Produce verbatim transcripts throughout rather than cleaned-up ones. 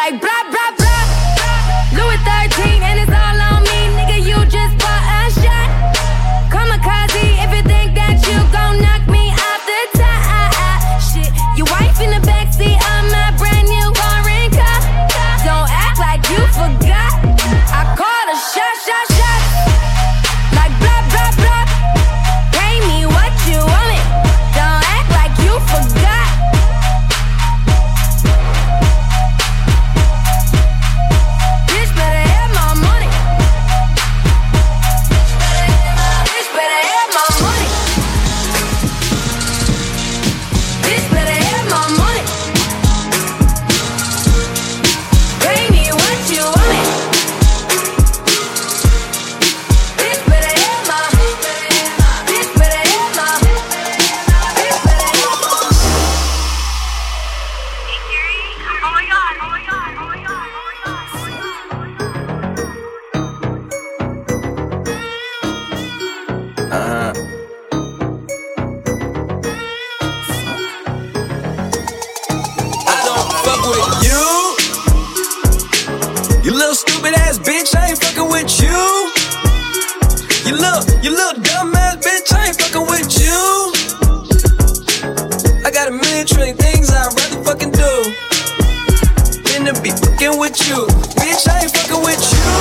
like blah, blah, blah. Louis thirteen and it's all on me, nigga, you just bought a shot. Kamikaze, if you think that you gon' knock me off the top. Shit, your wife in the backseat of my brand new foreign car. Don't act like you forgot. I call a shot, shot, shot. Like blah, blah, blah. Pay me what you want it. Don't act like you forgot. Bitch better have my money. Bitch better have my money. Bitch better have my money. Pay me what you want it. Bitch better have my. Bitch better have my. Bitch better have my. Oh my god, oh my god, oh my god, oh my god, oh my god. Uh-huh. I don't fuck with you. You little stupid ass bitch, I ain't fucking with you. You little, you little dumb ass bitch, I ain't fucking with you. I got a million trillion things I'd rather fucking do than to be fucking with you. Bitch, I ain't fucking with you.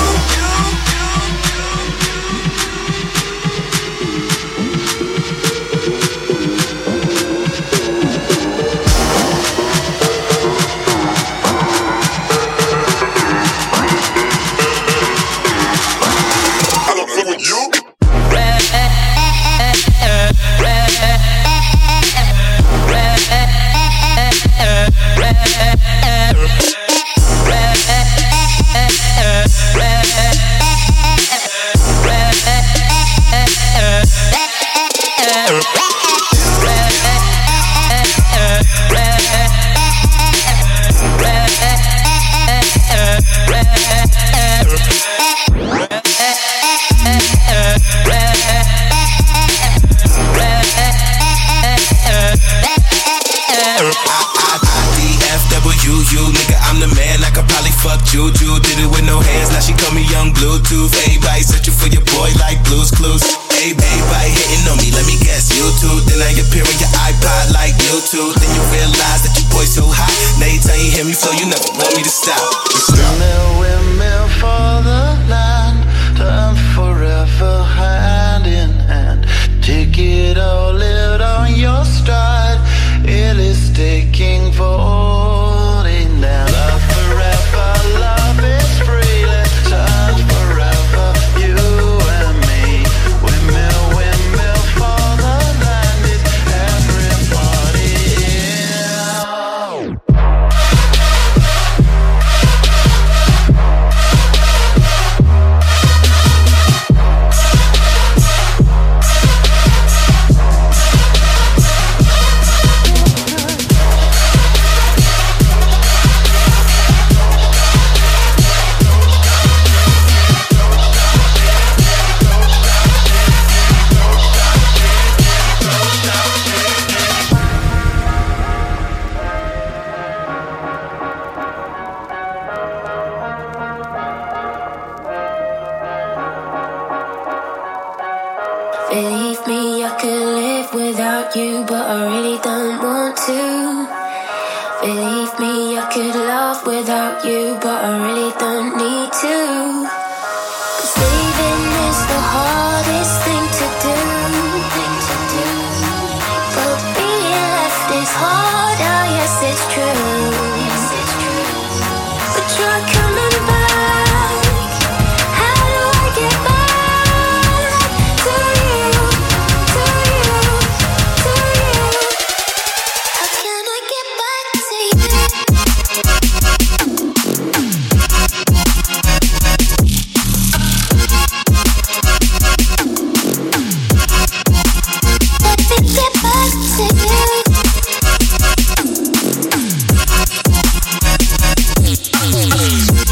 I don't fuck with you. Juju did it with no hands, now she call me Young Bluetooth. Everybody searching for your boy like Blue's Clues. Hey, everybody hitting on me, let me guess, YouTube. Then I appear on your iPod like YouTube. Then you realize that your boy so hot. Now you tell you hear me flow, you never want me to stop. Windmill, windmill for the land, time forever hand in hand. Take it all, live on your stride. It is taking falling down. Love forever, love is freely. Time forever, you and me. Windmill, windmill for the land. Is everybody in? Believe me, I could live without you, but I really don't want to. Believe me, I could love without you, but I really don't need to. 'Cause leaving is the hardest thing to do. But being left is hard, oh yes it's true. But you're coming back. How do I get back to you, to you, to you? How can I get back to you? Let me get back to you.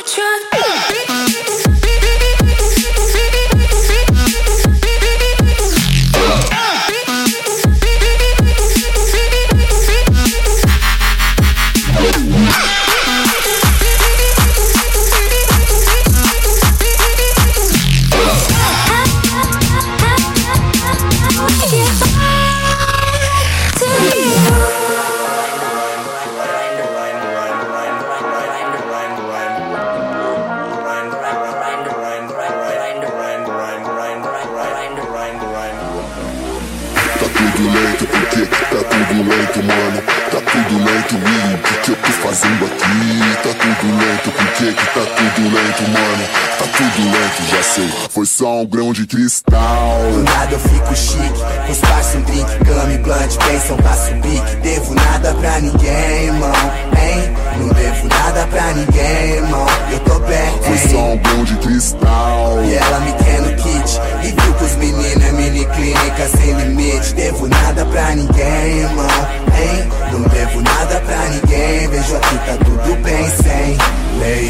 Foi só um grão de cristal. Do nada eu fico chique, os passos um drink, cama e blunt, pensam, passo um pique. Devo nada pra ninguém, irmão, hein? Não devo nada pra ninguém, irmão, eu tô bem, hein? Foi só um grão de cristal. E ela me quer no kit, e viu que os meninos é mini clínica sem limite. Devo nada pra ninguém, irmão, hein? Não devo nada pra ninguém, vejo aqui tá tudo bem sem lei.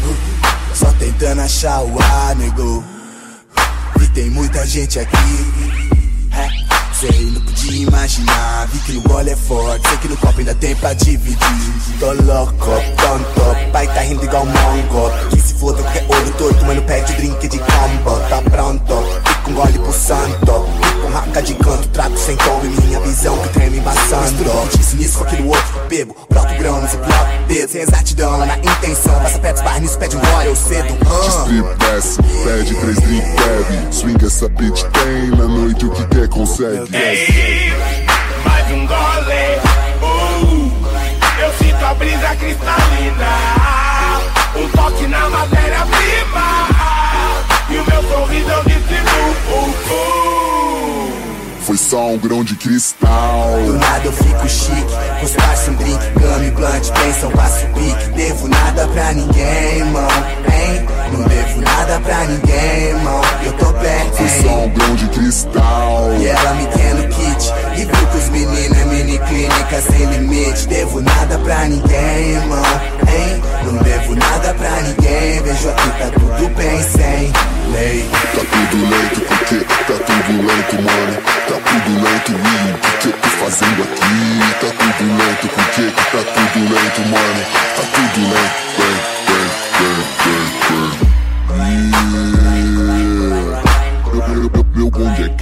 Só tentando achar o ar, nego. E tem muita gente aqui. É, sei, não podia imaginar. Vi que no gole é forte, sei que no copo ainda tem pra dividir. Tô louco, tonto, pai tá rindo igual mongo. Que se foda qualquer olho torto, mas não pede o drink de combo. Tá pronto, fica um gole pro santo. Fica um raca de canto, trago sem tom e minha visão que treme embaçando. Isso nisso, aquilo outro, bebo, broto grãos e bloco dedo. Sem exatidão, na intenção, passa perto, esbarra nisso, pede um gole, eu cedo. Strip péssimo, pede três drink, bebe. Swing essa bitch tem, na noite o que quer consegue. Ei, mais um gole, uh, eu sinto a brisa cristalina, um toque na matéria-prima, e o meu sorriso eu distribuo, uh, uh. Foi só um grão de cristal. Do nada eu fico chique, com os parça um drink, cama e blunt, pensam, passo pique. Devo nada pra ninguém, irmão, hein? Não devo nada pra ninguém, irmão, eu tô bem, Foi hein? só um grão de cristal. E ela me quer no kit, e viu que os meninos é mini clínica sem limite. Devo nada pra ninguém, irmão, hein? Não devo nada pra ninguém, vejo aqui tá tudo bem sem lei. Tá tudo lento porque tá tudo lento, mano. Tá tudo lento, e o que eu tô fazendo aqui? Tá tudo lento porque tá tudo lento, mano. Tá tudo lento, bem, bem, bem, bem, bem. Yeah. Meu, meu, meu bonde é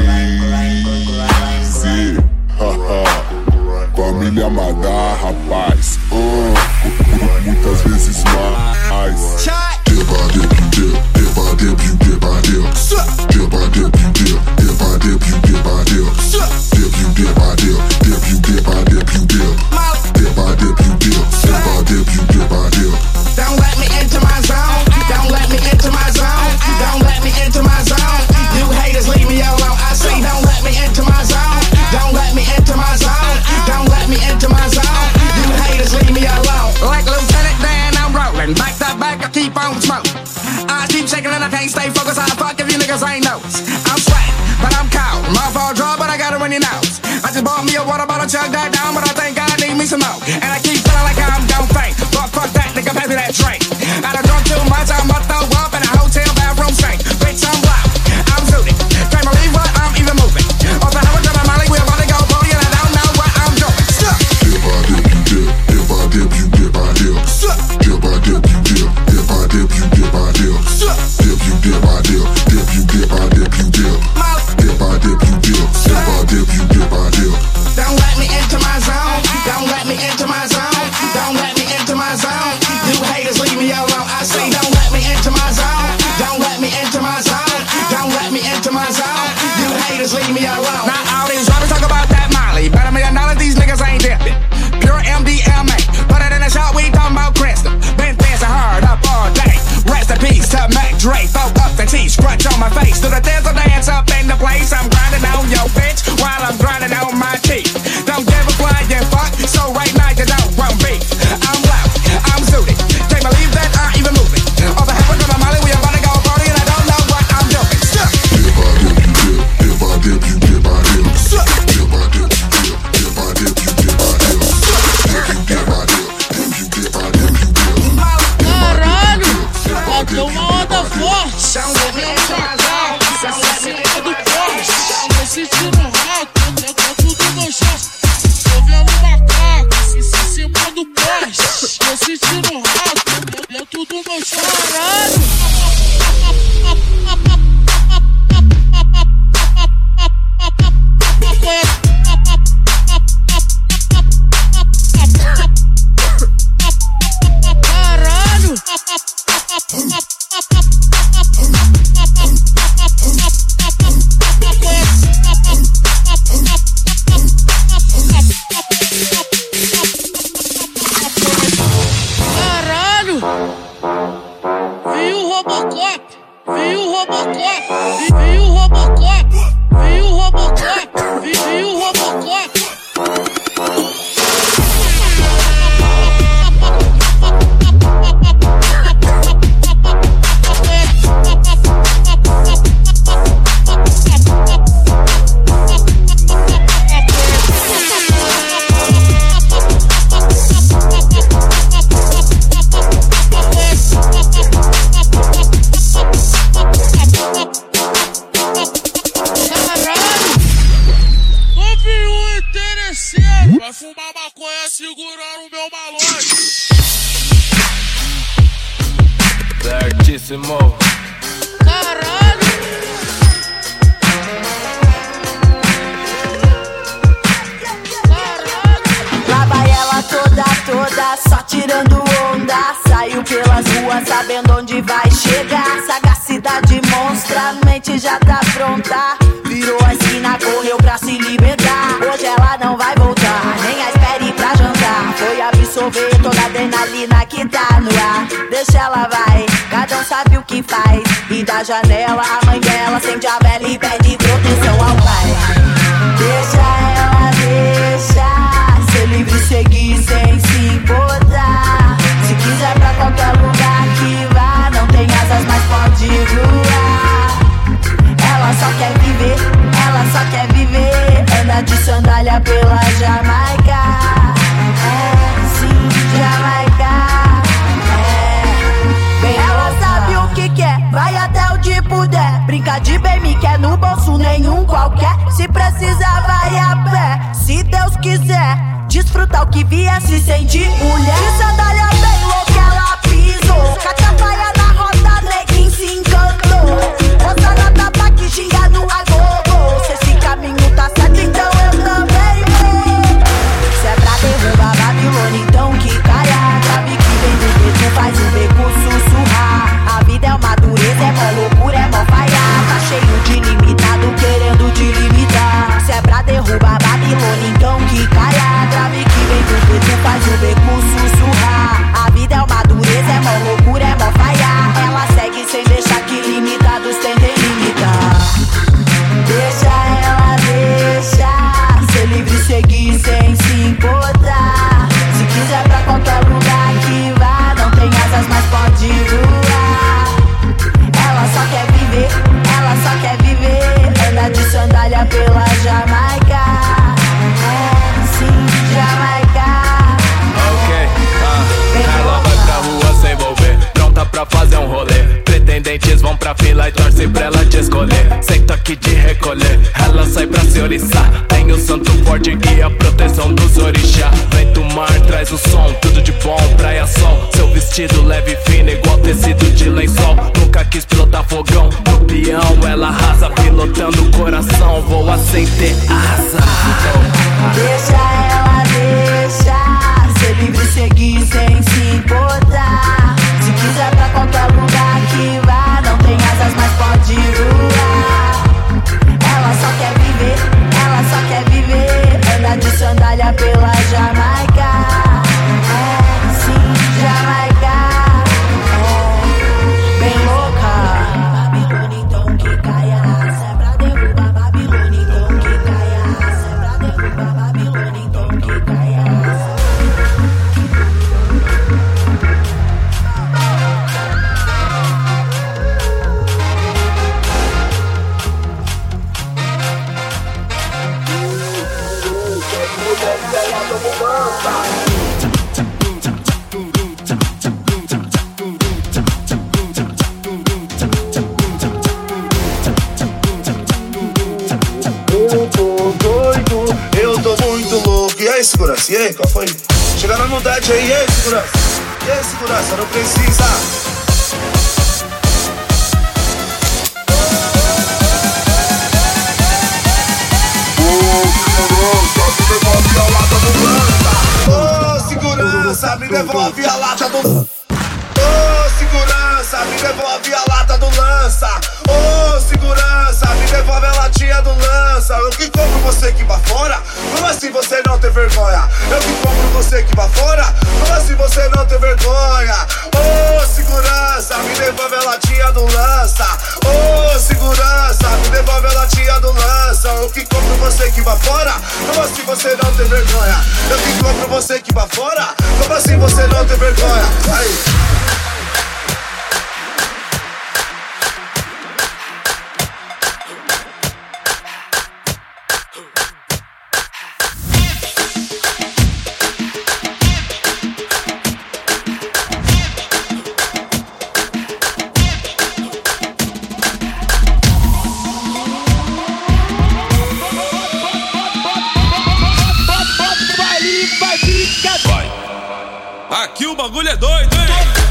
crazy. Haha. Família amada, rapaz. Uh, muitas vezes mais. Evadeu, evadeu, evadeu. Evadeu, evadeu, evadeu. Evadeu, evadeu, evadeu. Evadeu, evadeu. Don't let me into my zone. Don't let me into my zone. Don't let me into my zone. You haters leave me alone. I say don't let me into my zone. Don't let me into my zone. Don't let me into my zone. You haters leave me alone. Like Lieutenant Dan, I'm rolling. Back to back, I keep on smoking. I keep shaking and I can't stay focused. I fuck if you niggas ain't noticed. I'm sweating, but I'm cold. Mouth all dry, but I got it when you nose. I just bought me a water bottle, chug that down, but I think I need me some more. And I keep feeling like I'm gon' faint. Fuck, fuck that, nigga, pass me that drink. I done drunk too much, I'm about to throw up in a hotel bathroom sink. Bitch, I'm loud, I'm zooted. Can't believe what I'm even moving. Off the highway to my Molly, we're about to go party, and I don't know what I'm doing. Stuck. Evadeu, evadeu, evadeu. Evadeu, evadeu, evadeu. Evadeu, evadeu, evadeu. Evadeu, evadeu. Don't let me into my zone. Don't let me into my zone. Don't let me into my zone. You haters leave me alone. I say don't let me into my zone. Don't let me into my zone. Don't let me into my zone. You haters leave me alone. Now all these rappers talk about that Molly, but I mean none of these niggas ain't dipping. Pure M D M A. Put it in the shot, we talking about Crystal. Been dancing hard up all day. Rest in peace to Mac Dre. Throw up the T, scratch on my face. Do the dance, dance up in the place. I'm grinding on your bitch while I'm grinding on my teeth. Don't give a flying fuck, so right now you don't want beef. I'm loud, I'm zooted. Can't believe that I'm even moving. All the heaven to my Molly, we about to go party and I don't know what I'm doing. Stuck. Evadeu, evadeu, evadeu. Evadeu, evadeu, evadeu. Evadeu, evadeu, evadeu. Caralho, Don't let me into my zone. Don't let me into my zone. Tô sentindo rato, dentro do meu chão. Tô vendo macaco, em cima do poste. Tô sentindo rato, dentro do meu chão. Caralho! Vai fumar maconha segurando o meu malote. Certíssimo. Caralho. Lá vai ela toda, toda, só tirando onda. Saiu pelas ruas sabendo onde vai chegar. Sagacidade monstra, mente já tá pronta. Virou a esquina, correu pra se libertar. Hoje ela não vai voltar, nem a espere pra jantar. Foi absorver toda a adrenalina que tá no ar. Deixa ela vai, cada um sabe o que faz. E da janela a mãe dela acende a vela e pede proteção ao pai. Deixa ela, deixa ser livre, seguir sem se importar. Se quiser pra qualquer lugar que vá, não tem asas, mas pode voar. Ela só quer viver, ela só quer viver. Anda de sandália pela Jamaica. É, sim, Jamaica. É, bem ela sabe o que quer, vai até onde puder. Brinca de bem, me quer no bolso nenhum qualquer. Se precisar vai a pé, se Deus quiser. Desfrutar o que vier, se sentir mulher. De sandália bem louca ela pisou. Catapaia na roda, neguinho se encantou. Moça na tapa que xinga no agogo. Se esse caminho tá certo, então eu também vou. Se é pra derrubar Babilônia, então que caia. Grave que vem do beco, faz o beco sussurrar. A vida é uma dureza, é mó loucura, é mó falhar. Tá cheio de limitado, querendo te limitar. Se é pra derrubar Babilônia, então que caia. Grave que vem do beco, faz o beco sussurrar. A vida é uma dureza, é mó loucura, é mó falhar. Ela segue sem deixar que limitados tentem limitar. Deixa ela, deixa ser livre, seguir sem se importar. Se quiser pra qualquer lugar que vá, não tem asas, mas pode voar. Ela só quer viver, ela só quer viver. Anda de sandália pela Jamaica. É, sim, Jamaica. Ok, ah, ela vai pra rua sem envolver, pronta pra fazer um rolê. Pretendentes vão pra fila e torce pra ela te escolher. Senta aqui de recolher, ela sai pra se oriçar. Tem o santo forte que é a proteção dos orixá. Vento mar, traz o som, tudo de bom, praia sol. Seu vestido leve e fino, igual tecido de lençol. Nunca quis pilotar fogão, no peão ela arrasa. Pilotando o coração, voa sem ter asa. Deixa ela, deixa ser livre, seguir sem se importar. Se quiser pra qualquer lugar que vá, não tem asas, mas pode voar. Ela só quer viver, ela só quer viver. Anda de sandália pela Jamaica. É, sim, Jamaica. É, bem louca. Babilônia, então que caia. Se é pra derrubar Babilônia, então que caia. Se é pra derrubar Babilônia, então que caia. E aí, qual foi? Chegando na maldade aí, e aí, segurança? E aí, segurança, não precisa. Ô, segurança, me devolve a lata do lança. Ô, segurança, me devolve a lata do lança. Ô, segurança, me devolve a latinha do lança. Eu que compro você que vai fora. Como assim você não tem vergonha? Eu que compro você que vai fora. Como assim você não tem vergonha? Ô, segurança, me devolve a latinha do lança. Ô, segurança, me devolve a latinha do lança. Eu que compro você que vai fora. Como assim você não tem vergonha? Eu que compro você que vai fora. Como assim você não tem vergonha? Aí. Aqui o bagulho é doido, hein?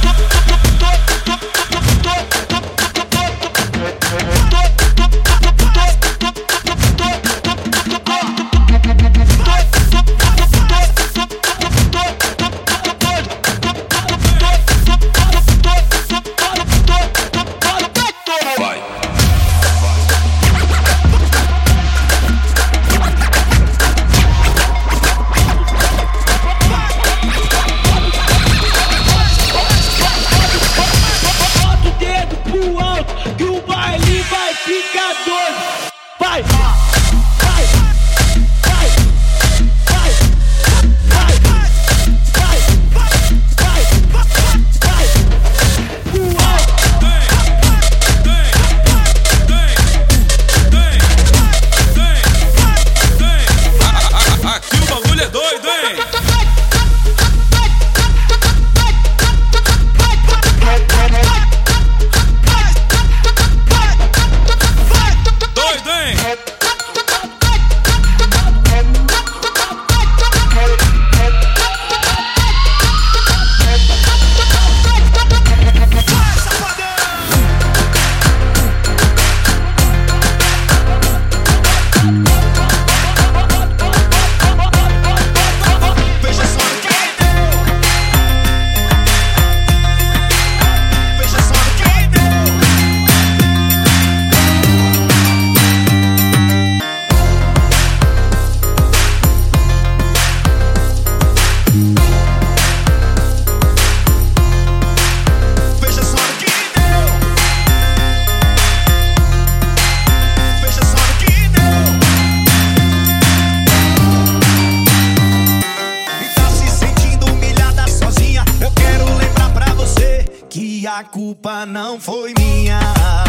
A culpa não foi minha.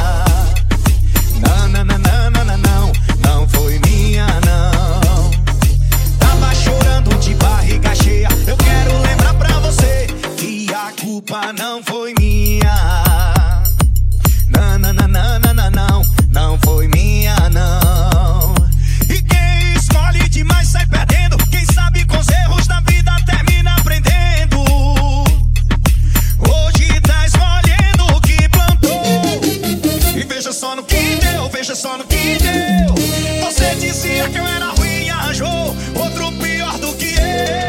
Não, não, não, não, não, não, não, não foi minha, não. Tava chorando de barriga cheia. Eu quero lembrar pra você que a culpa não foi minha. Não, não, não, não, não, não, não, não foi minha, não. E quem escolhe demais sai perdendo. Quem sabe com os erros da vida termina aprendendo. Hoje tá escolhendo o que plantou. E veja só no que deu, veja só no que deu. Você dizia que eu era ruim e arranjou outro pior do que eu.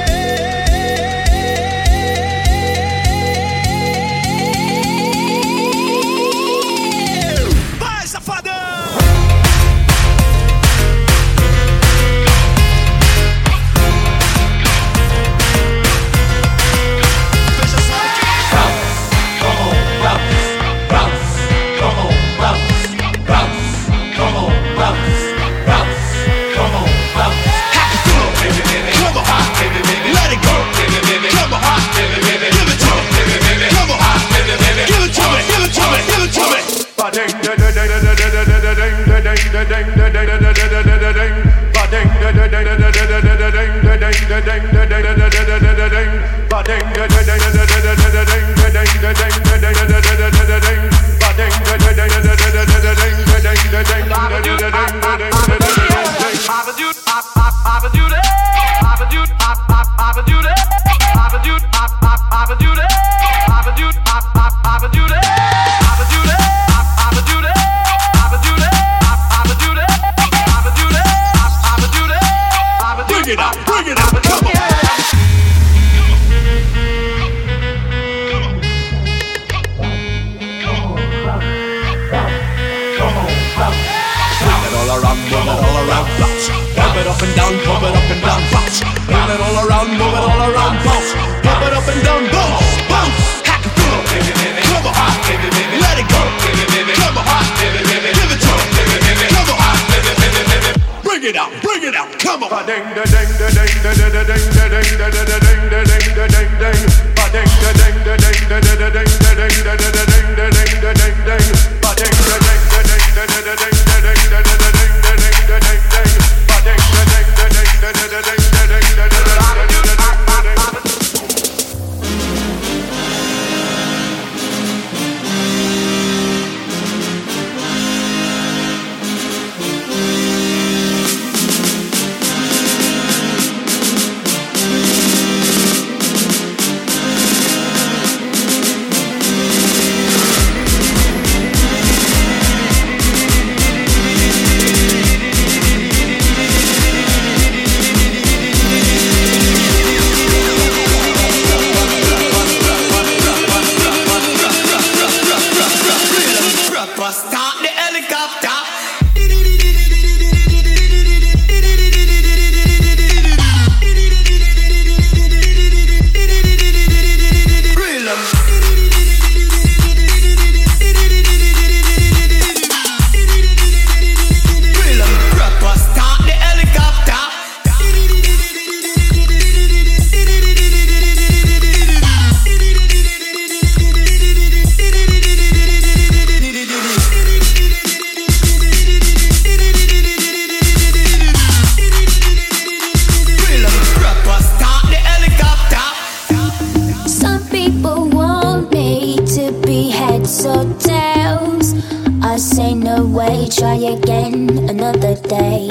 around, move it all around, bounce. Pump it up and down, pump it up and down, bounce. Move it all around, move it all around, bounce. Pump it up and down, bounce, bounce. Hack it through, come on, let it go. Come on, give it to me. Come on, bring it out, bring it out, come on. Ding da ding da ding da da da ding da ding da da da ding da ding da ding ding. Ba ding da ding da ding da da da ding da ding da da da ding da ding da ding ding. Ba ding da ding da ding da da da ding da ding da da da ding da ding da ding ding. Ba ding da ding da ding da da da ding da ding da da da ding da ding ding. Try again another day.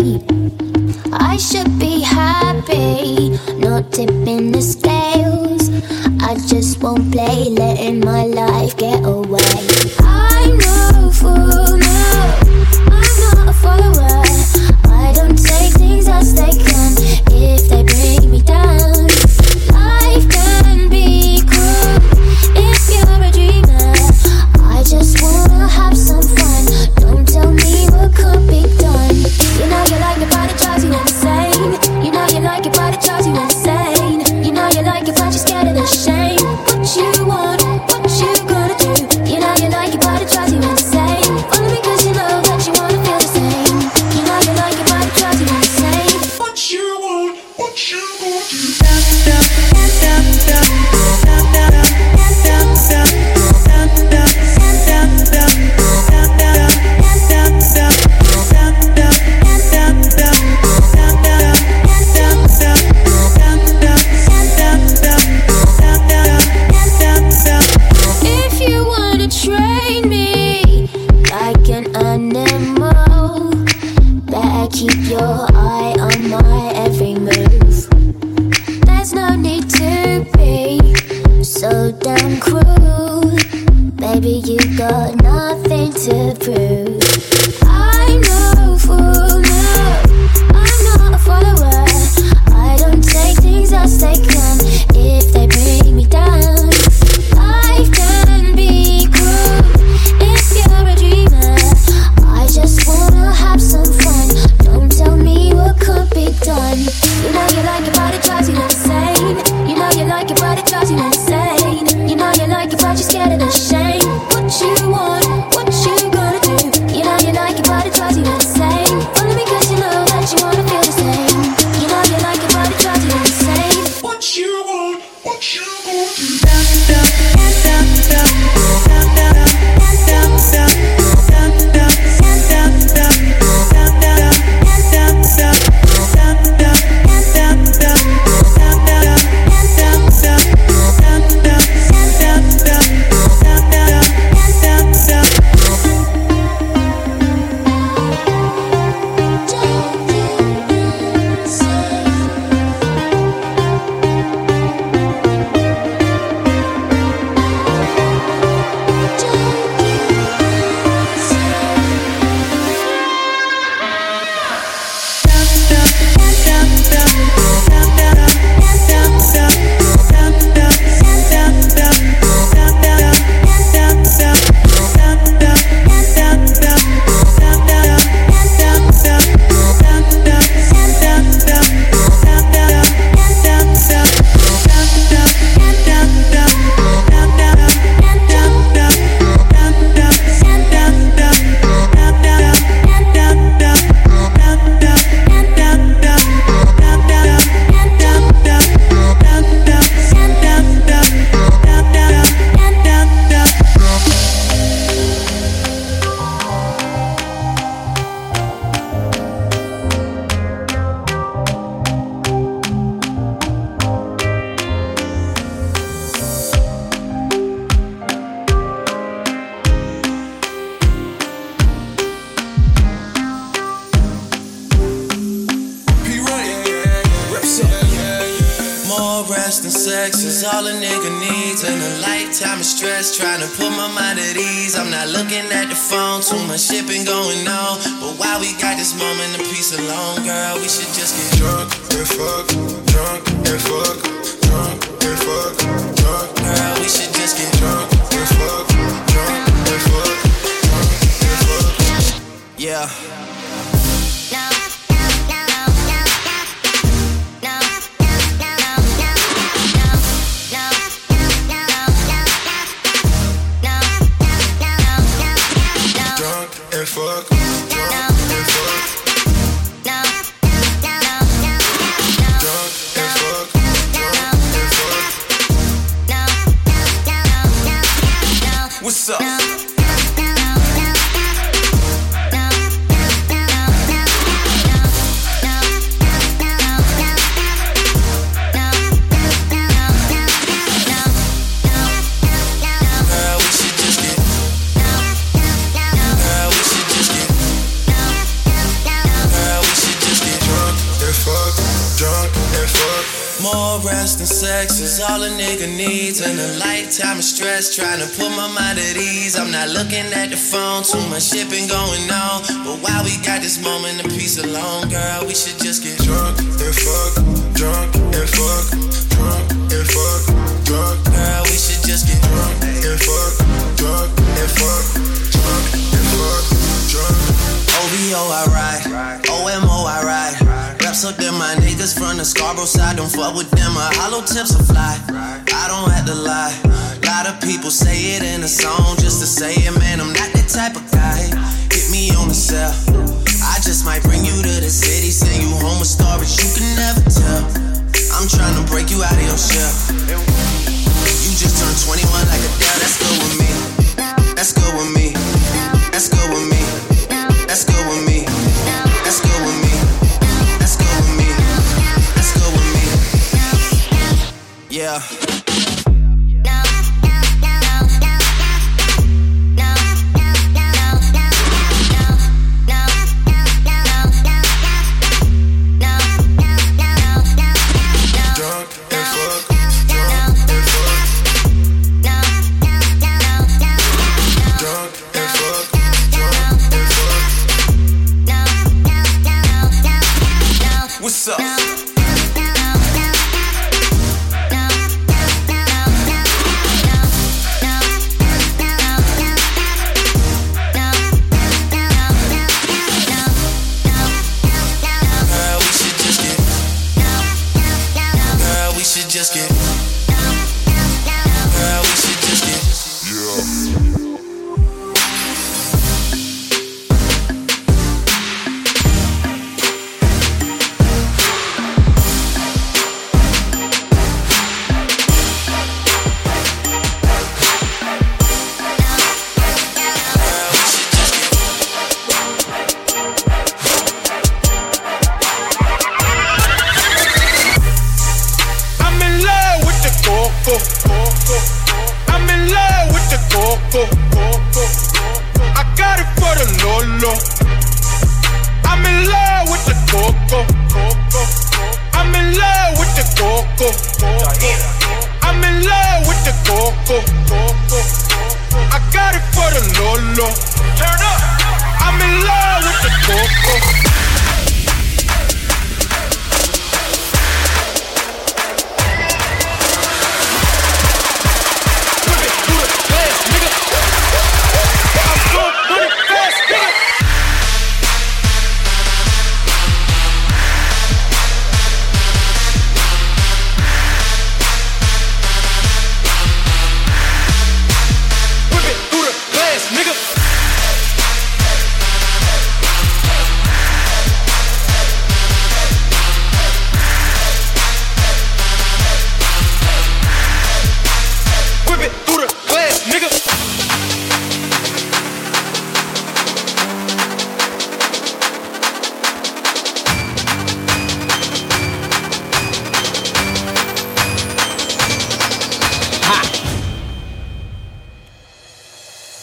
I should be happy, not tipping the scales. I just won't play, letting my life get away. I'm no fool, no, I'm not a follower. I don't take things as they come if they bring me down. Life can be cruel if you're a dreamer. I just wanna have some fun. Don't tell me what could be done. You know you like it, but it drives you insane. You know you like it, but it drives you insane. You know you like it, but you're scared of the shame. What you want, what you gonna do? You know you like it, but it drives you insane. Only because you know that you wanna feel the same. You know you like it, but it drives you insane. What you want, what you gonna do? Keep your eye on my every move. There's no need to be so damn cruel. Baby, you got nothing to prove. I'm no fool, no, I'm not a follower. I don't take things as they come if they bring me down. Life can be cruel if you're a dreamer. I just wanna have some fun. Don't tell me what could be done. You know you like it, but it drives you insane. You know you like it, but it drives you insane. You know you like it, but you're scared of the shame. What you want, what you gonna do? You know you like it, but it drives you insane. Only because you know that you wanna feel the same. You know you like it, but it drives you insane. What you want, what you rest and sex is all a nigga needs, and a lifetime of stress trying to put my mind at ease. I'm not looking at the phone, too much shit been going on, but while we got this moment of peace alone, girl, we should just get drunk and fuck, drunk and fuck, drunk and fuck, drunk. Girl, we should just get drunk and fuck, drunk and fuck, drunk and fuck. Yeah. Fuck, drunk and fuck, drunk and fuck, drunk and fuck. What's up? More rest and sex is all a nigga needs, and a lifetime of stress trying to put my mind at ease. I'm not looking at the phone, too much shit been going on, but while we got this moment of peace alone, girl, we should just get drunk and fuck, drunk and fuck, drunk and fuck, drunk. Girl, we should just get drunk and fuck, drunk and fuck, drunk and fuck, drunk. O V O I ride, O M O I ride. Reps up them my niggas from the Scarborough side. Don't fuck with them, my hollow tips will fly. I don't have to lie. Lot of people say it in a song just to say it, man, I'm not that type of guy. Hit me on the cell, I just might bring you to the city, send you home with stories you can never tell. I'm trying to break you out of your shell. You just turned twenty-one like a Adele, that's good with me. That's good with me. That's good with me. That's good with me. That's good with me. That's good with me. That's good with me. Yeah. What's up? Just get, girl, we should just get, yeah. I'm in love with the coco. I got it for the Lolo. I'm in love with the coco. I'm in love with the coco. I'm in love with the coco. I got it for the Lolo. Turn up. I'm in love with the coco. Through the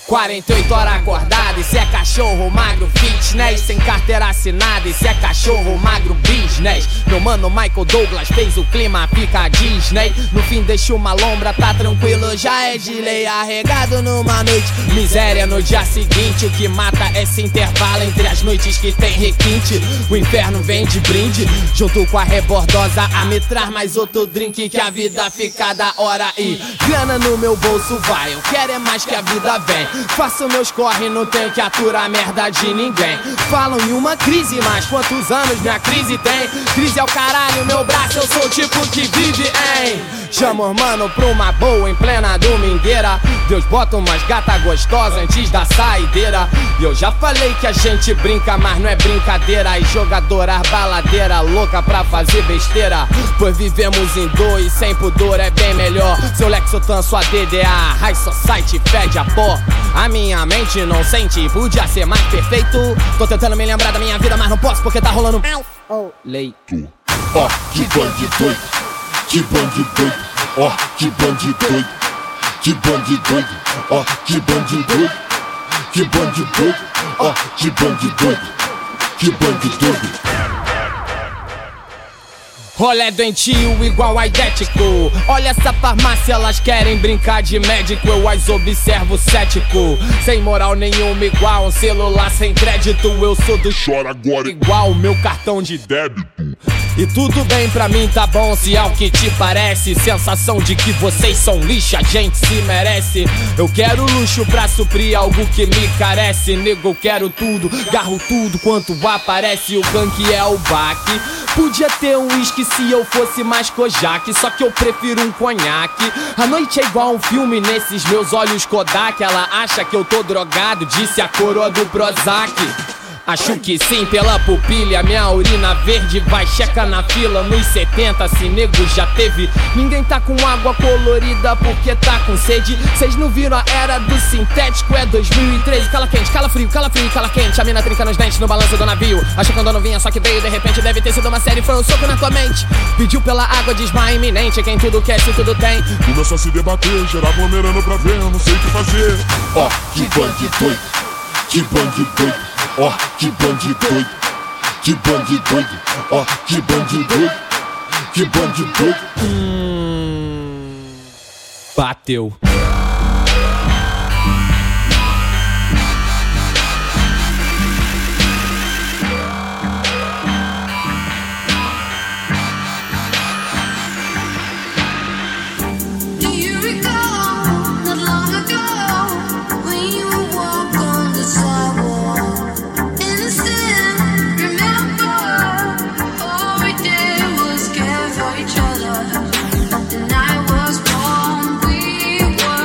quarenta e oito horas acordado, e se é cachorro magro fitness, sem carteira assinada, e se é cachorro magro business. Meu mano Michael Douglas fez o clima, fica Disney. No fim deixa uma lombra, tá tranquilo, já é de lei. Arregado numa noite, miséria no dia seguinte. O que mata é esse intervalo entre as noites que tem requinte. O inferno vem de brinde, junto com a rebordosa, a me traz mais outro drink que a vida fica da hora. E grana no meu bolso vai, eu quero é mais que a vida vem. Faço meus corre, não tenho que aturar merda de ninguém. Falam em uma crise, mas quantos anos minha crise tem? Crise é o caralho, meu braço, eu sou o tipo que vive em. Chama os mano pra uma boa em plena domingueira. Deus bota umas gata gostosa antes da saideira. E eu já falei que a gente brinca, mas não é brincadeira. E jogadora baladeira, louca pra fazer besteira. Pois vivemos em dois, sem pudor é bem melhor. Seu Lexotan, sua D D A, High Society fede a pó. A minha mente não sente, podia ser mais perfeito. Tô tentando me lembrar da minha vida, mas não posso porque tá rolando oh, leito. Ó, que bandido doido, que bandido doido, ó, que bandido doido, que bandido doido, ó, que bandido doido, que bandido doido, ó, que bandido doido, que bandido doido. Rolé doentio igual aidético. Olha essa farmácia, elas querem brincar de médico. Eu as observo cético. Sem moral nenhuma, igual um celular sem crédito. Eu sou do chora agora igual o meu cartão de débito. E tudo bem pra mim, tá bom, se é o que te parece. Sensação de que vocês são lixo, a gente se merece. Eu quero luxo pra suprir algo que me carece. Nego, eu quero tudo, garro tudo quanto aparece. O gank é o baque. Podia ter um uísque se eu fosse mais Kojak, só que eu prefiro um conhaque. A noite é igual um filme nesses meus olhos Kodak. Ela acha que eu tô drogado, disse a coroa do Prozac. Acho que sim, pela pupilha, minha urina verde vai, checa na fila nos setenta, se nego já teve. Ninguém tá com água colorida porque tá com sede. Cês não viram a era do sintético, é dois mil e treze. Cala quente, cala frio, cala frio, cala quente. A mina trinca nos dentes no balanço do navio. Achou que andou não vinha, só que veio de repente. Deve ter sido uma série, foi um soco na tua mente. Pediu pela água, desmaio iminente. Quem tudo quer, se tudo tem. Começou a se debater, geral aglomerando pra ver, eu não sei o que fazer. Ó, que bandido doido, que bandido doido. Ó, que bandido doido, que bandido doido, ó, que bandido doido, que bandido doido. Hum, bateu. Each other, and I was born, we were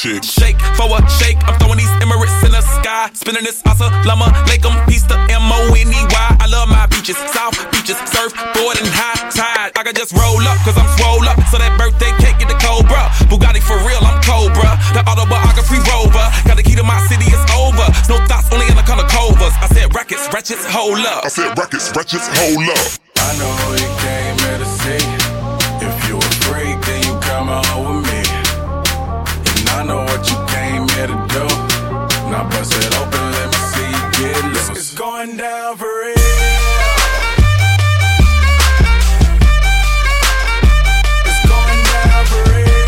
shake. Shake for a shake. I'm throwing these Emirates in the sky. Spinning this Assalamu alaikum. Peace to M O N E Y. I love my beaches. South beaches. Surfboard and high tide. I can just roll up cause I'm swole up. So that birthday cake get the Cobra. Bugatti for real, I'm Cobra. The autobiography rover. Got the key to my city, it's over. No thoughts, only in the color covers. I said rackets, ratchets, hold up. I said rackets, ratchets, hold up. I know you came here to see. If you a freak, then you come on with me. And I know what you came here to do. Now bust it open, let me see you get loose. It's going down for real. It's going down for real.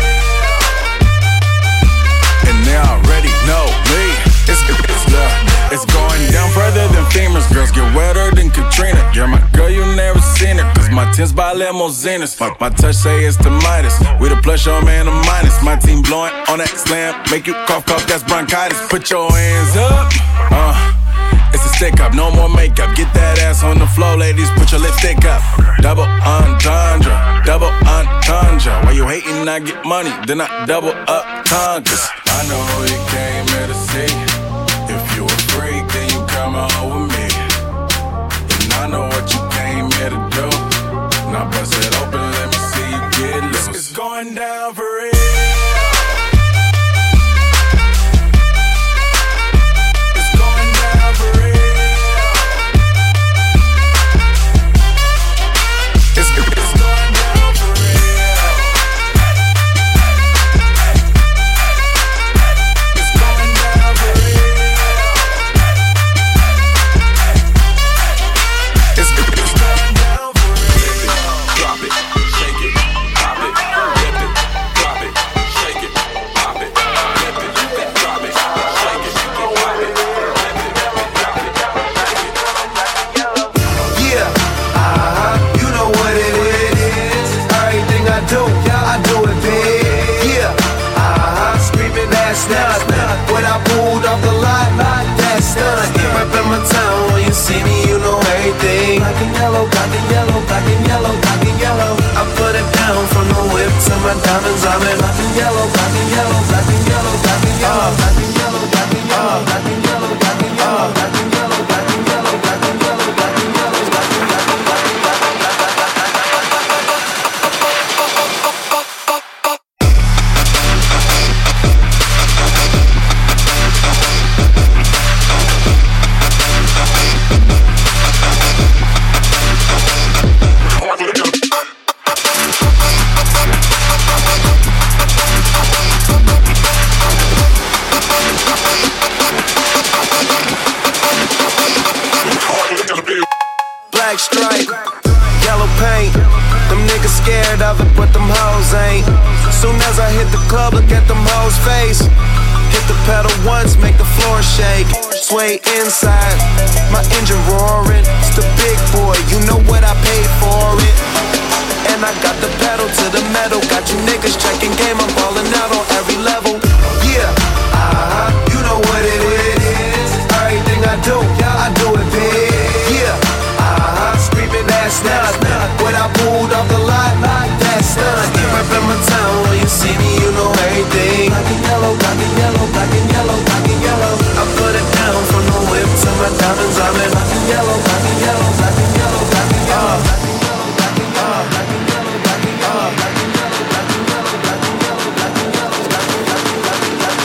And they already know me. It's, it's, uh, it's going down further than famous. Girls get wetter than Katrina. You're my girl, you never seen it. Cause my tins by limousines. My, my touch say it's the Midas. We the plus, your man, a minus. My team blowing on that slam. Make you cough, cough, that's bronchitis. Put your hands up. Uh, it's a stick up, no more makeup. Get that ass on the floor, ladies. Put your lipstick up. Double entendre, double entendre. While you hating, I get money. Then I double up tundras. I know you came here to see. If you a freak, then you come on with me. And I know what you came here to do. Now bust it open, let me see you get loose. It's going down for real. It's going down for real. It's, it's going down for real. It's going down for real. It's, it's going down for real. Drop it, shake it, pop it, flip it, drop it, shake it, pop it, flip it, drop it, shake it, pop it, flip it, drop it, shake it. Yeah, uh-huh, you know what it is. Everything I do, I do it big. Yeah, uh-huh, screaming that's not when I pulled off the lot, that's done. Right in my town, when you see me, you know everything. Black and yellow, black and yellow, black and yellow, black and yellow. I put it down from the whip to my diamonds. I'm in black and yellow, black and yellow, black and yellow, black and yellow, black and yellow, black and yellow, black and yellow, black and yellow, black and yellow, black and yellow, black and yellow, black and yellow, black and yellow, black and yellow. Black stripe, yellow paint. Them niggas scared of it, but them hoes ain't. Soon as I hit the club, look at them hoes' face. Hit the pedal once, make the floor shake. Sway inside, my engine roaring. It's the big boy, you know what I paid for it. And I got the pedal to the metal. Got you niggas checking game, I'm ballin' out on every level. Yeah, uh-huh, you know what it is. Everything I do, I do it big. Yeah, uh-huh, screaming that's not when I pulled off the lot, that's done. Right in my town, when you see me, you know everything. Black and yellow, black and yellow, black and yellow, black and yellow. I put it down from the whip to my diamonds. I'm in black and yellow, black and yellow, black and yellow, black and yellow, black and yellow, black and yellow, black and yellow, black and yellow, black and yellow, black and yellow, black and yellow, black and yellow, black and yellow, black and yellow.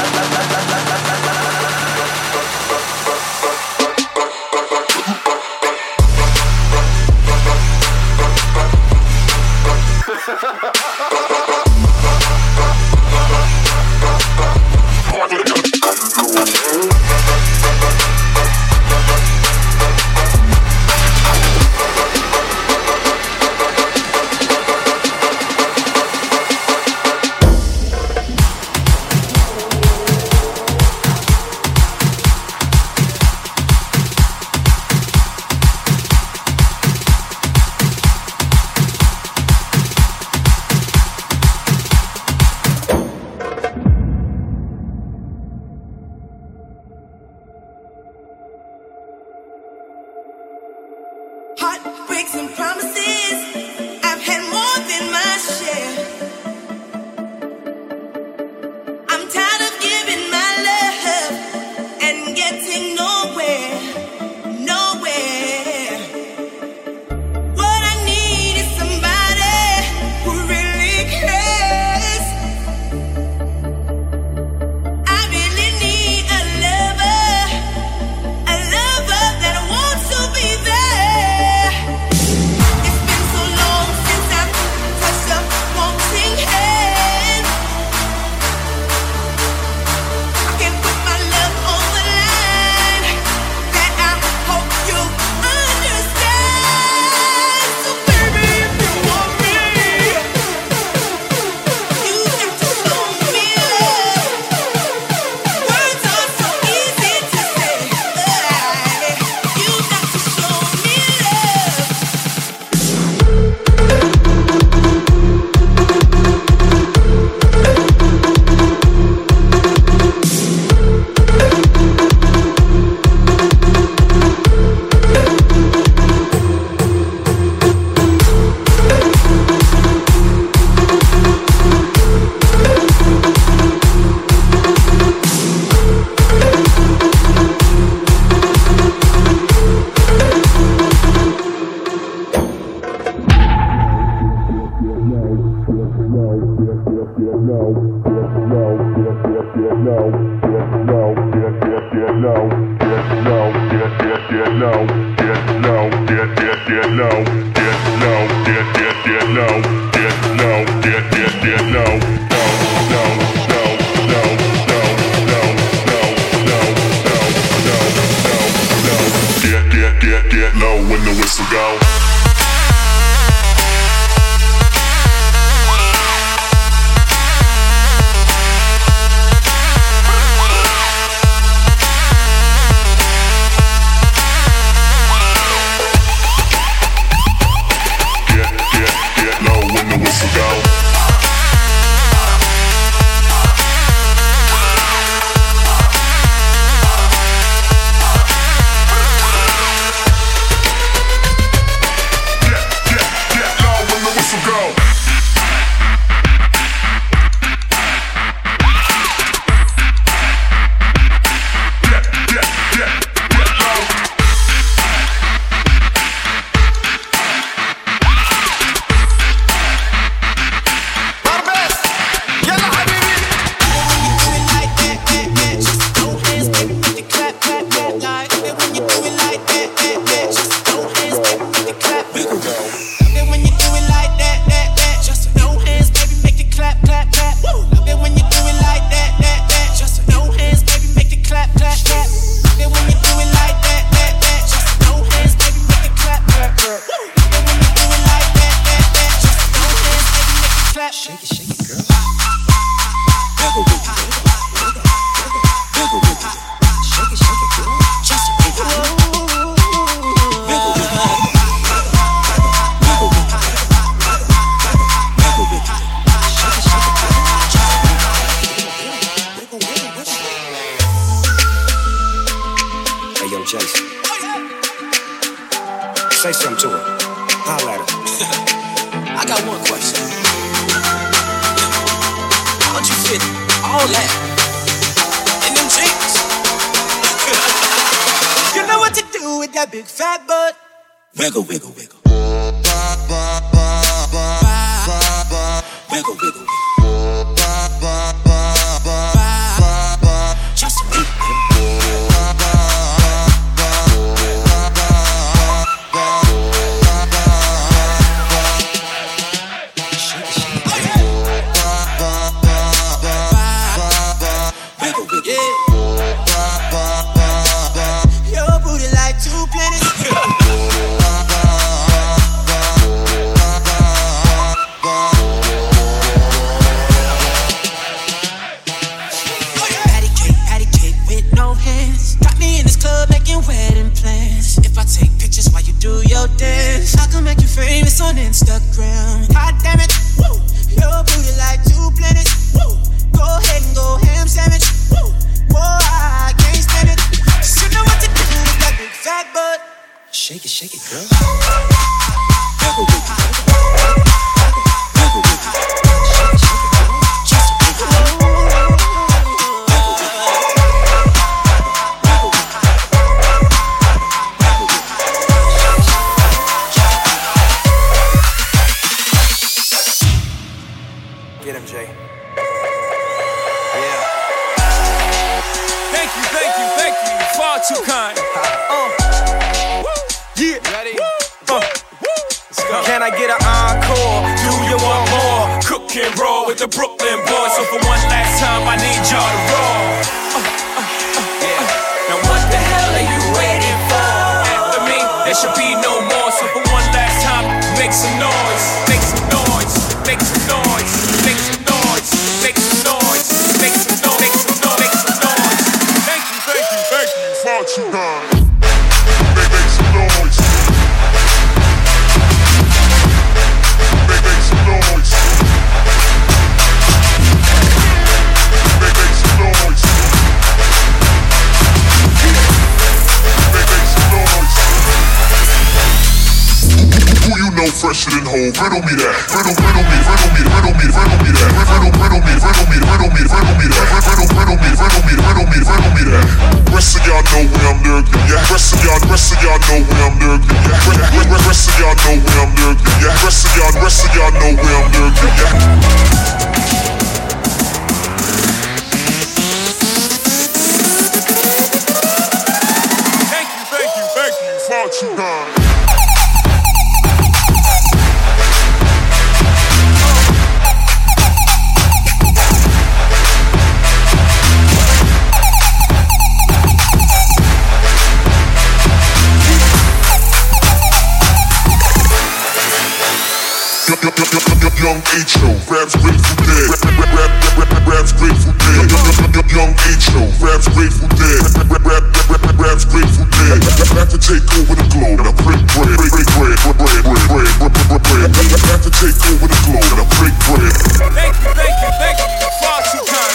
Heartbreaks and promises, I've had more than my share. I'm tired. low, get low, get get get low, get low, get get get low, get low, get get get low, get low, get get get low, low, low, low, low, low, low, low, low, low, low, low, low, get get get get low when the whistle go. Say something to her. Holla at her. I got one question. How'd you fit all that in them jeans? You know what to do with that big fat butt. Wiggle, wiggle, wiggle. Wiggle, wiggle, wiggle. Just wiggle. Your booty like two planets. Patty cake, patty cake with no hands. Got me in this club making wedding plans. If I take pictures while you do your dance, I can make you famous on Instagram. God damn it, woo. Your booty like two planets. Woo. Go ahead and go ham sandwich. Woo. Boy, I can't stand it. Just you know what to do with that big fat butt. Shake it, shake it, girl. Wiggle, wiggle. Wiggle, wiggle. Shake it, shake it, girl. Just wiggle. Get him, Jay. Thank you, thank you, thank you. Far too kind. Uh. Yeah. Ready? Uh. Let's go. Can I get an encore? Do you want more? Cook and roll with the Brooklyn boys. So for one last time, I need y'all to roll. Uh, uh, uh, yeah. Now what the hell are you waiting for? After me, there should be no more. So for one last time, make some noise. Make some noise. Make some noise. Make some noise. Make some noise. Make some noise. Make some noise. Make some noise. Thank you, thank you, thank you. Far too kind. Make, make some noise. Make, make some noise. Make, make some noise. Make, make some noise. Who you know fresher than whole? Riddle me that. Riddle, riddle me, riddle me, riddle me, riddle me that. Riddle, riddle me, riddle me, riddle me, riddle me that. Riddle, riddle me, riddle me, riddle me, riddle me that. Rest of y'all know where I'm lurking, yeah. Rest of y'all, rest of y'all know where I'm lurking, yeah. Rest of y'all know where I'm lurking, yeah. Rest of y'all, rest of y'all know where I'm lurking, yeah. Young H-O, raps Grateful Dead. Rap, rap, rap, rap, raps Grateful Dead. Young H-O, raps Grateful Dead. Rap, rap, rap, raps Grateful Dead. Back to take over the globe. Now break bread, break bread, bread, bread, bread, bread, bread, bread. Back to take over the globe. Now break bread. Thank you, thank you, thank you. Far too kind.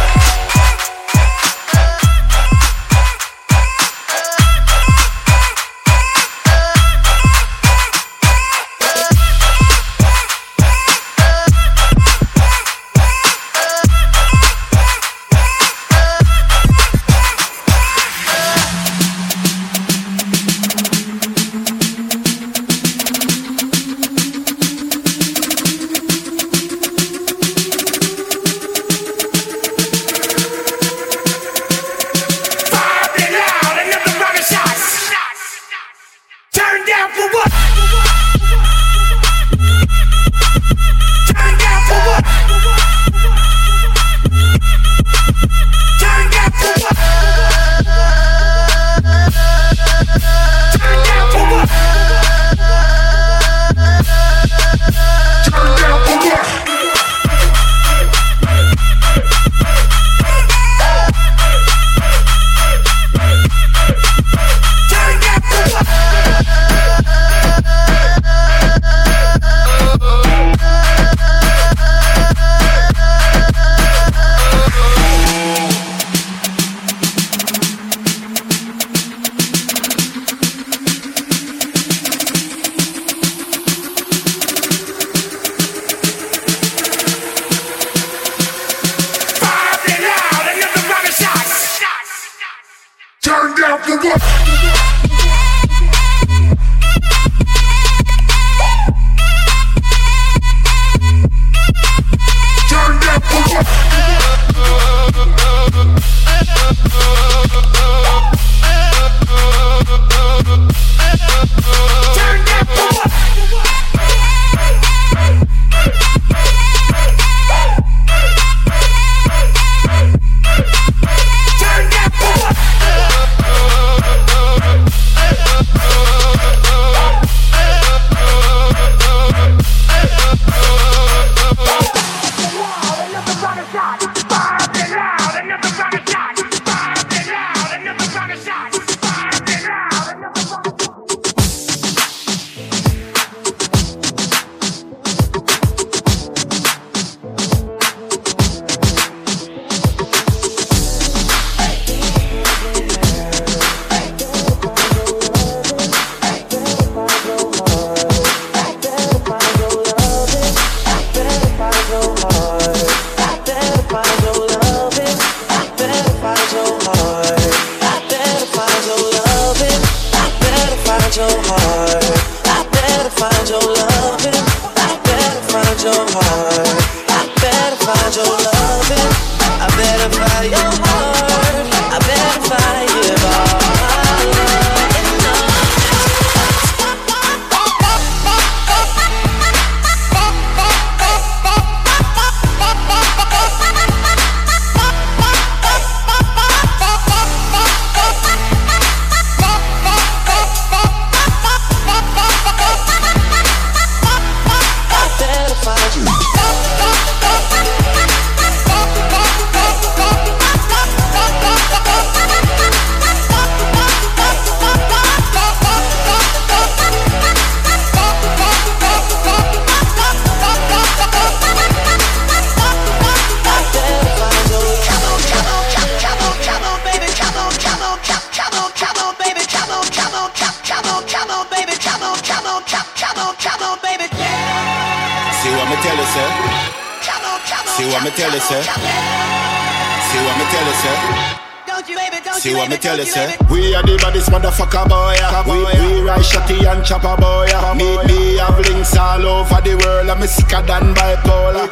See what me tell you, sir? We are the baddest motherfucker, boy. We, we ride shotty and chopper, boy. Me, me have links all over the world. I'm sicker than bipolar.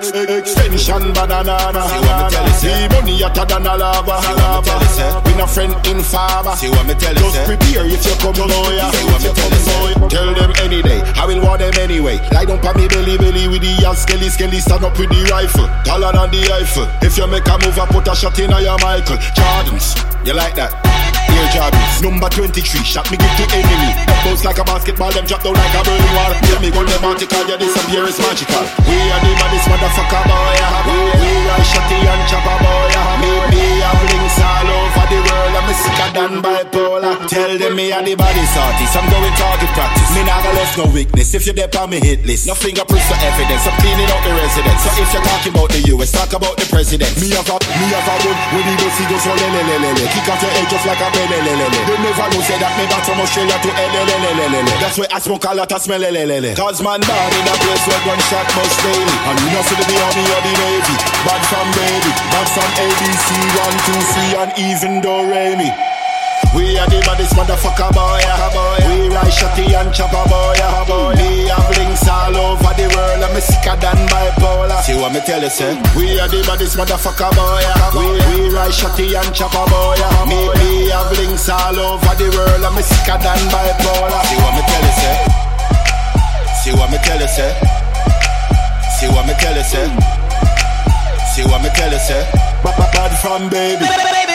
Extension banana. See what me tell you, sir? Me money hotter than a lava. See what me tell you, sir? We no friend in farmer. See what me tell you, sir? Just prepare if you come, boy. See what me tell you, sir? Tell them any day, I will want them anyway. Lie down pa me belly belly with the ass skelly skelly. Stand up with the rifle, taller than the Eiffel. If you make a move, I put a shot in your Michael Jordans. You like that? your job is. Number twenty-three, shot me give the enemy. Bounce like a basketball, them drop down like a burning wall. Tell me gun them article, yeah, disappear is magical. We are the baddest motherfucker boy. We, we are shotty and chopper boy. Me, me have links all over the world. I'm sicker than bipolar. Tell them me are the baddest artist. I'm going target practice. Me nah gonna left no weakness. If you dep on me hit list, no fingerprints or evidence. I'm cleaning out the residence. So if you're talking about the U S, talk about the president. Me have a, me have a one when he goes, he goes so lele lele lele. Kick off your head just like a lele lele lele. They never know say that me back from Australia to lele lele lele. That's why I smoke a lot of smell lele lele. Cause man bad in a place where gunshot must daily. And you know see the army or the navy. Bad from baby, bad from A B C, one, two, three, and even Do Re Mi. We are the baddest motherfucker boy. We ride shotty and chopper boy. Me have links all over the world. I'm sicker than bipolar. See what me tell you, say? We are the baddest motherfucker boy. We, we ride shotty and chopper boy. Me, me have links all over the world. I'm sicker than bipolar. See what me tell you, say? See what me tell you, say? See what me tell you, say? See what me tell you, say? Bad from baby.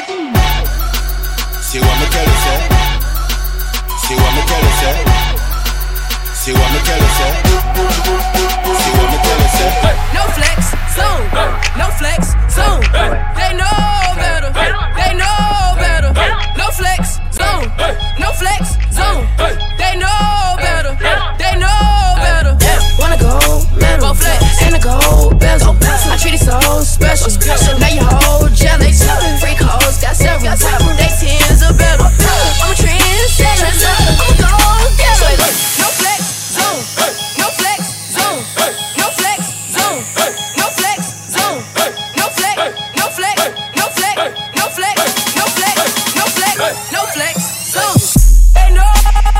See what me tell you, say? See what me tell you, say? See what me tell you, say? See what me tell you, say? No flex, zone. No flex, zone. They know better. They know better. No flex, zone. No flex, zone. They know better. They know better. Wanna go metal and a gold bezel. I treat it so special. Now you hold jealous. Freak hoes got several. They tens are better. I'm a trendsetter. I'm a gold getter. No flex zone. No flex zone. No flex zone. No flex zone. No flex. No flex. No flex. No flex. No flex. No flex. No flex zone. They know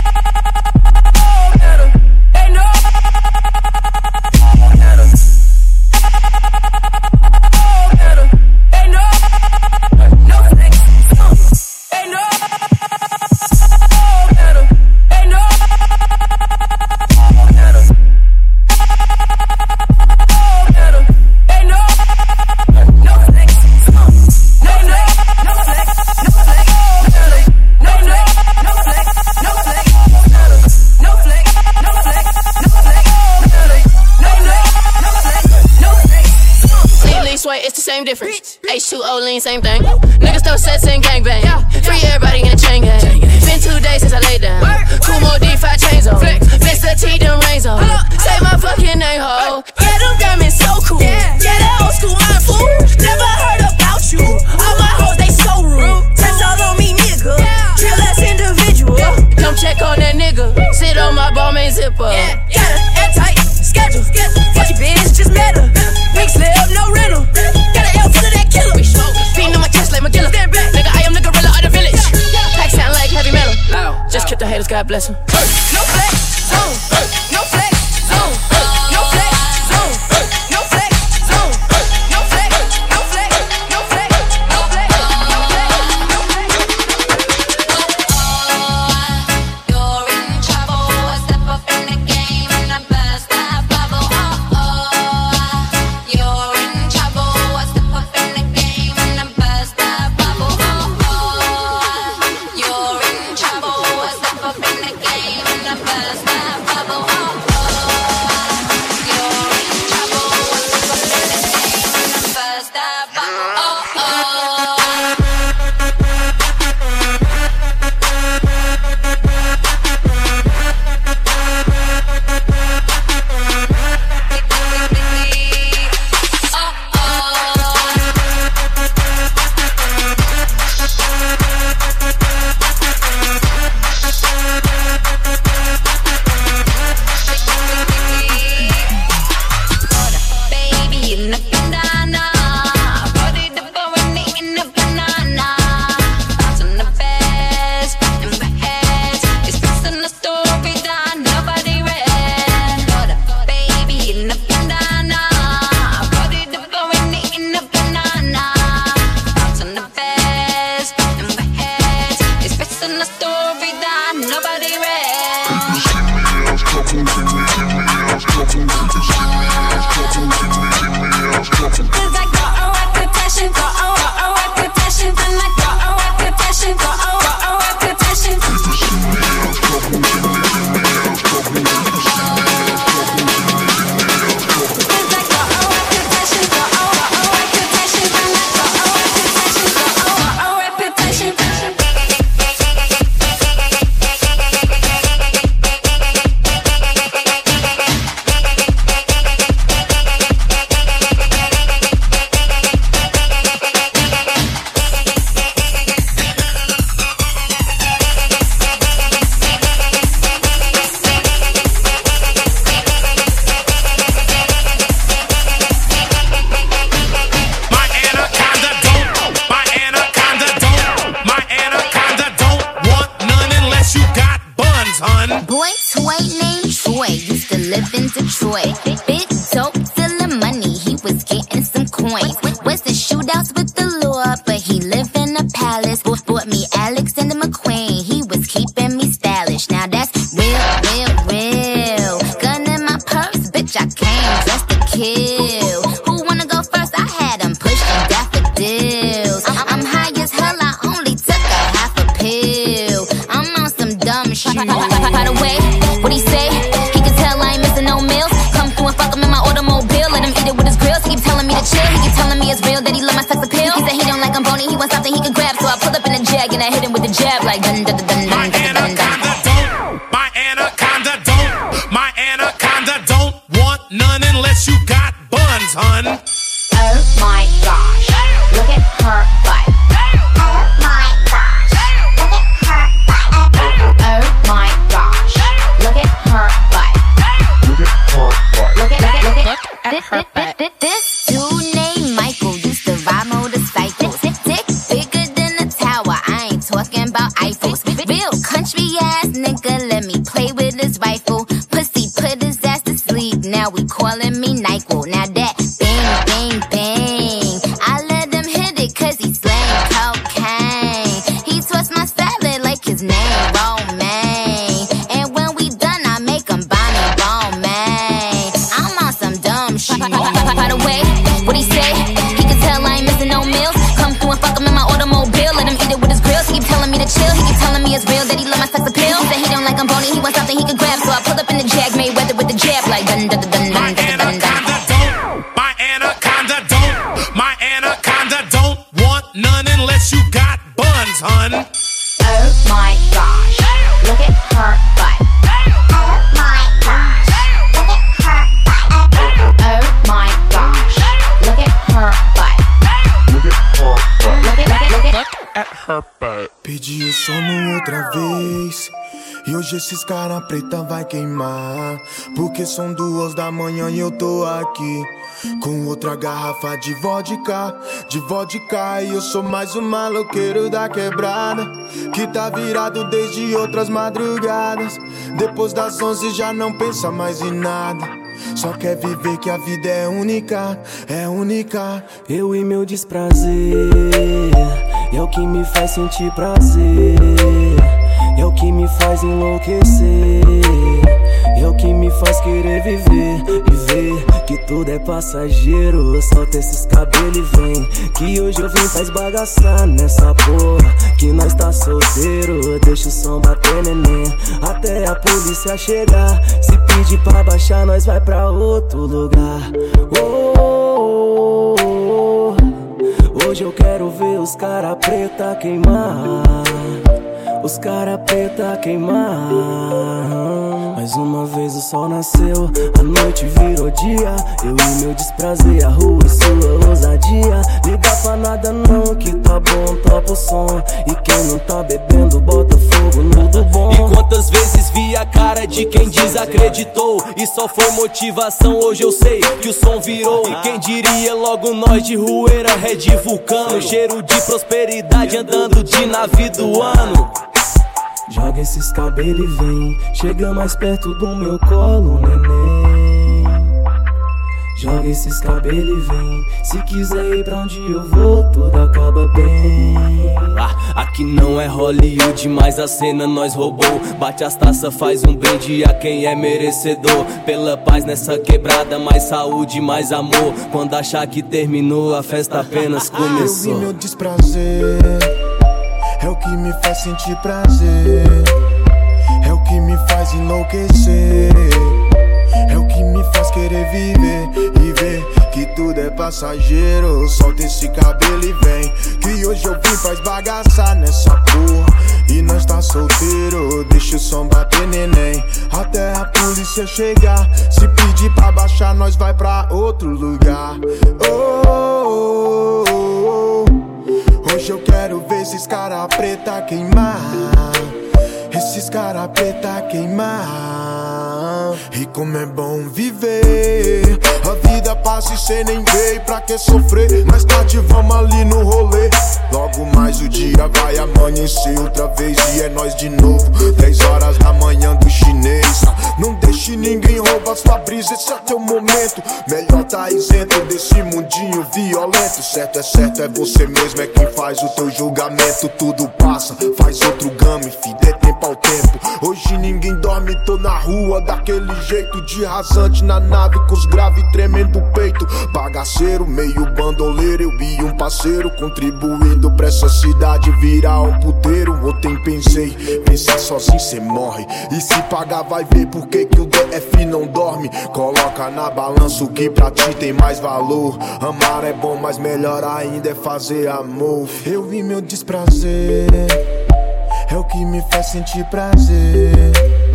better. They know better. Better. They know. No flex zone. They know better. They know better. Better. They know. No flex zone. No flex. No flex. No flex. Better. No flex. No flex. No flex. Better. No flex. No flex. No flex. Better. No flex. No flex. No flex. Lean, lean, sway, it's the same difference. H two O lean, same thing. Niggas throw sets and gangbang. Free everybody in the chain gang. Been two days since I laid down. Two more D five chains on. Mister T, them rains on. Say my fucking name, ho. Yeah, them diamonds so cool. Yeah, that old school iron fool. Never heard about you. All my hoes, they so rude. Test all on me, nigga. Drill ass individual. Come check on that nigga. Sit on my ball, main zipper. Got a airtight schedule. Fuck your bitch, just met her. Big slip, no rental. Got an L full of that killer. Beating on my chest like McGilla. Nigga, I am the gorilla of the village. Pack sound like heavy metal. Just keep the haters, God bless them. No flex zone. No flex zone. No flex zone. No flex zone. No flex. No flex. No flex. No flex. No flex. No flex. You're in trouble. Step up in the game and I burst that bubble. Oh, oh. You're in trouble. Step up in the game and I burst that bubble. Oh, oh. You're in trouble. Step up in the game and I burst that bubble. Oh, oh. You're in trouble. Step up in the game and I burst that bubble. Oh, oh. Baby in a banana, body the bone in a banana. Bounce on the best and the heads. It's fixing the story that nobody read. Baby in a banana, body the bone in a banana. Bounce on the best and the heads. It's fixing the story that nobody read. Cause I got a reputation, got a, got a reputation, and I got a reputation. reputation, got a, got a reputation. Boy, toy named Troy used to live in Detroit. Big dope, stealing money, he was getting some coins. Was the shootouts with the law, but he lived in a palace. Bought me Alexander McQueen, he was keeping me stylish. Now that's real, real, real. Gun in my purse, bitch, I came just to kill. Who wanna go first? I had him pushing daffodils. I'm high as hell, I only took a half a pill. I'm on some dumb shit. By the way, what he say? He can tell I ain't missing no meals. Come through and fuck him in my automobile. Let him eat it with his grills. He keep telling me to chill. He keep telling me it's real that he love my sex appeal. He said he don't like I'm bony. He wants something he can grab. So I pull up in a jag and I hit him with the jab like dun dun dun dun dun dun dun dun. My anaconda don't, my anaconda don't want none unless you got buns, hun. Oh my gosh, look at her butt. Oh my gosh, look at her butt. Oh my gosh, look at her butt. Look at her butt. Look at, look at, look at, look at her butt. This dude named Michael used to ride motorcycles. Dick bigger than a tower. I ain't talking about Eiffels. Real country ass nigga, let me play with his rifle. Pussy put his ass to sleep. Now we calling me NyQuil. Now that bang, bang, bang. I let him hit it cause he slang cocaine. He twists my salad like his name, Romaine. And when we done, I make him buy me Romaine. I'm on some dumb shit. By the way, what he say? He can tell I ain't missing no meals. Come through and fuck him in my automobile. Let him eat it with his grills. He keep telling me to chill. He keep telling me it's real that he love my sex appeal. He said he don't like I'm bony. He wants something he can grab. So I pull up in the jag, Mayweather with the jab like dun dun dun dun dun dun dun dun. My anaconda don't, my anaconda don't want none unless you got buns, hun. Oh my gosh, look at her butt. Oh my gosh, look at her butt. Oh my gosh, look at her butt. Look at her butt. Look at, look at, look at her butt. Pedi o sono outra vez. E hoje esses cara preta vai queimar. Porque são duas da manhã e eu tô aqui com outra garrafa de vodka, de vodka. E eu sou mais um maloqueiro da quebrada que tá virado desde outras madrugadas. Depois das onze já não pensa mais em nada. Só quer viver que a vida é única, é única. Eu e meu desprazer é o que me faz sentir prazer. É o que me faz enlouquecer. É o que me faz querer viver. Viver que tudo é passageiro. Solta esses cabelos e vem. Que hoje eu vim pra esbagaçar nessa porra. Que nós tá solteiro. Deixa o som bater, neném, até a polícia chegar. Se pedir pra baixar, nós vai pra outro lugar. Oh, oh, oh, oh. Hoje eu quero ver os cara preta queimar. Os cara preta queimar. Mais uma vez o sol nasceu, a noite virou dia. Eu e meu desprazer, a rua e sua ousadia. Liga pra nada não, que tá bom, topa o som. E quem não tá bebendo, bota fogo no do bom. E quantas vezes vi a cara de quem desacreditou e só foi motivação, hoje eu sei que o som virou. E quem diria logo nós de Rueira, Red Vulcano. Cheiro de prosperidade andando de navio do ano. Joga esses cabelos e vem. Chega mais perto do meu colo, neném. Joga esses cabelos e vem. Se quiser ir pra onde eu vou, tudo acaba bem. Ah, aqui não é Hollywood, mas a cena nós roubou. Bate as taças, faz um brinde a quem é merecedor. Pela paz nessa quebrada, mais saúde, mais amor. Quando achar que terminou, a festa apenas começou. Eu vi meu desprazer, é o que faz sentir prazer, é o que me faz enlouquecer, é o que me faz querer viver e ver que tudo é passageiro. Solta esse cabelo e vem, que hoje eu vim pra esbagaçar nessa porra. E nós tá solteiro, deixa o som bater, neném, até a polícia chegar. Se pedir pra baixar, nós vai pra outro lugar. Oh, oh, oh, oh. Hoje eu quero ver esses cara preta queimar, esses cara preta queimar. E como é bom viver, a vida passa e cê nem vê. Pra que sofrer? Mais tarde vamos ali no rolê. Logo mais o dia vai amanhecer outra vez e é nós de novo. Dez horas da manhã do chinês. Não deixe ninguém roubar sua brisa, esse é teu momento. Melhor tá isento desse mundinho violento. Certo é certo, é você mesmo, é quem faz o teu julgamento. Tudo passa, faz outro game, fi, dê tempo ao tempo. Hoje ninguém dorme, tô na rua daquele jeito, de rasante na nave com os graves tremendo o peito. Bagaceiro, meio bandoleiro, eu e um parceiro contribuindo pra essa cidade virar um puteiro. Ontem pensei, pensar sozinho cê morre, e se pagar vai ver por que que o D F não dorme. Coloca na balança o que pra ti tem mais valor. Amar é bom, mas melhor ainda é fazer amor. Eu vi meu desprazer, é o que me faz sentir prazer,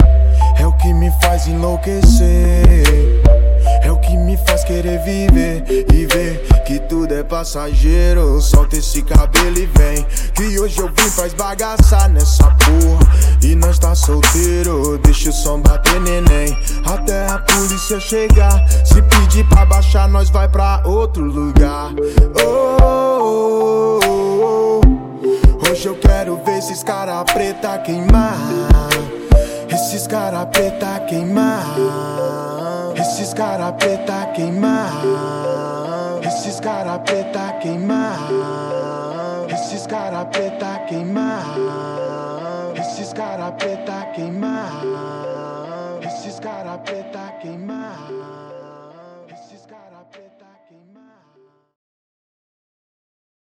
é o que me faz enlouquecer, é o que me faz querer viver e ver que tudo é passageiro. Solta esse cabelo e vem, que hoje eu vim pra esbagaçar nessa porra. E nós tá solteiro, deixa o som bater, neném, até a polícia chegar. Se pedir pra baixar, nós vai pra outro lugar. Oh, oh, oh, oh. Hoje eu quero ver esses cara preta queimar, esses cara preta queimar, esses cara preta queimar, esses cara preta queimar, esses cara preta queimar, esses cara preta queimar, esses cara preta queimar.